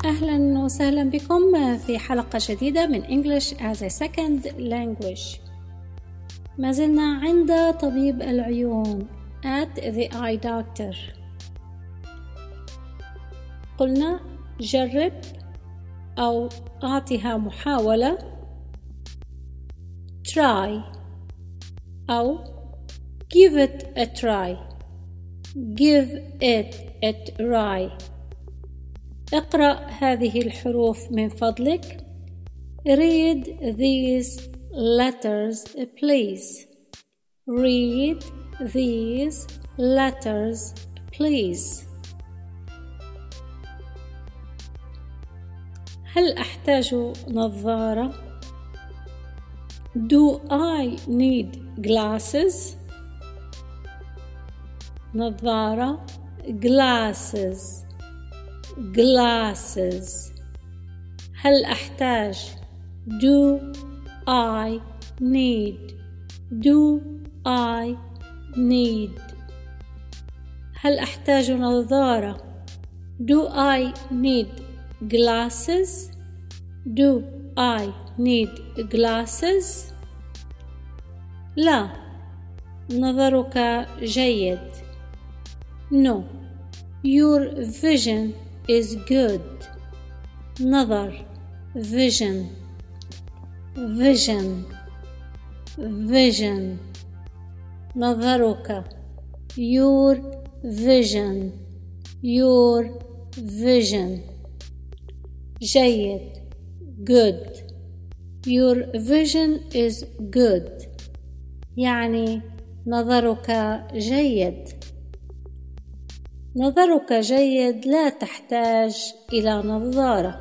أهلا وسهلا بكم في حلقة جديدة من English as a Second Language. ما زلنا عند طبيب العيون at the eye doctor. قلنا جرب أو أعطيها محاولة try أو give it a try. give it a try. اقرأ هذه الحروف من فضلك. read these letters please. read these letters please. هل أحتاج نظارة؟ Do I need glasses؟ نظارة glasses glasses. هل أحتاج do I need do I need. هل أحتاج نظارة do I need glasses do I need glasses. لا، نظرك جيد. No, your vision is good. نظر vision vision vision. نظرك your vision your vision. جيد good. your vision is good يعني نظرك جيد. نظرك جيد لا تحتاج إلى نظارة.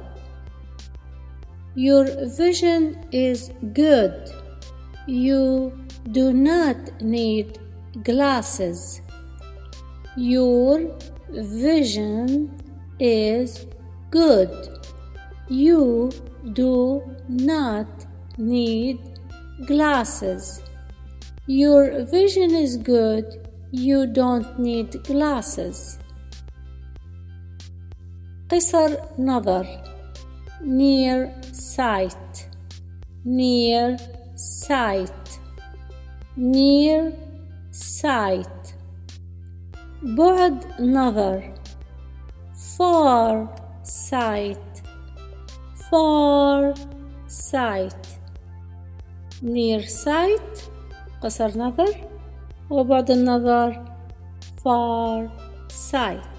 Your vision is good. You do not need glasses. Your vision is good. You do not need glasses. Your vision is good. You don't need glasses. قصر نظر near sight near sight near sight. بعد نظر far sight far sight. near sight قصر نظر وبعد النظر far sight.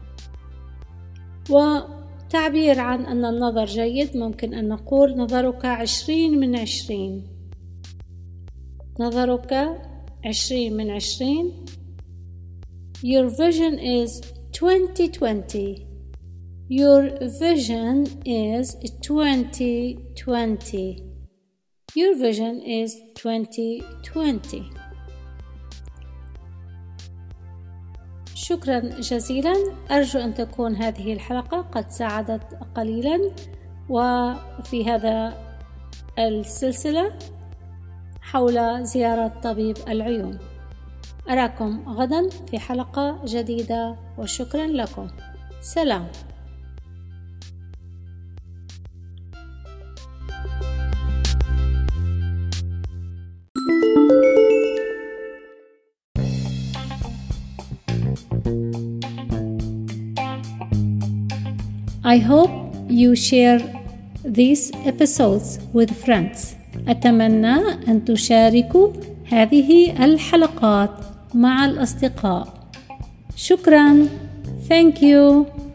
وتعبير عن أن النظر جيد ممكن أن نقول نظرك 20/20. نظرك 20/20. Your vision is 20/20. Your vision is 20/20. Your vision is 20/20. شكرا جزيلا. أرجو أن تكون هذه الحلقة قد ساعدت قليلا وفي هذا السلسلة حول زيارة طبيب العيون. أراكم غدا في حلقة جديدة وشكرا لكم. سلام. I hope you share these episodes with friends. أتمنى أن تشاركوا هذه الحلقات مع الأصدقاء. شكرا. Thank you.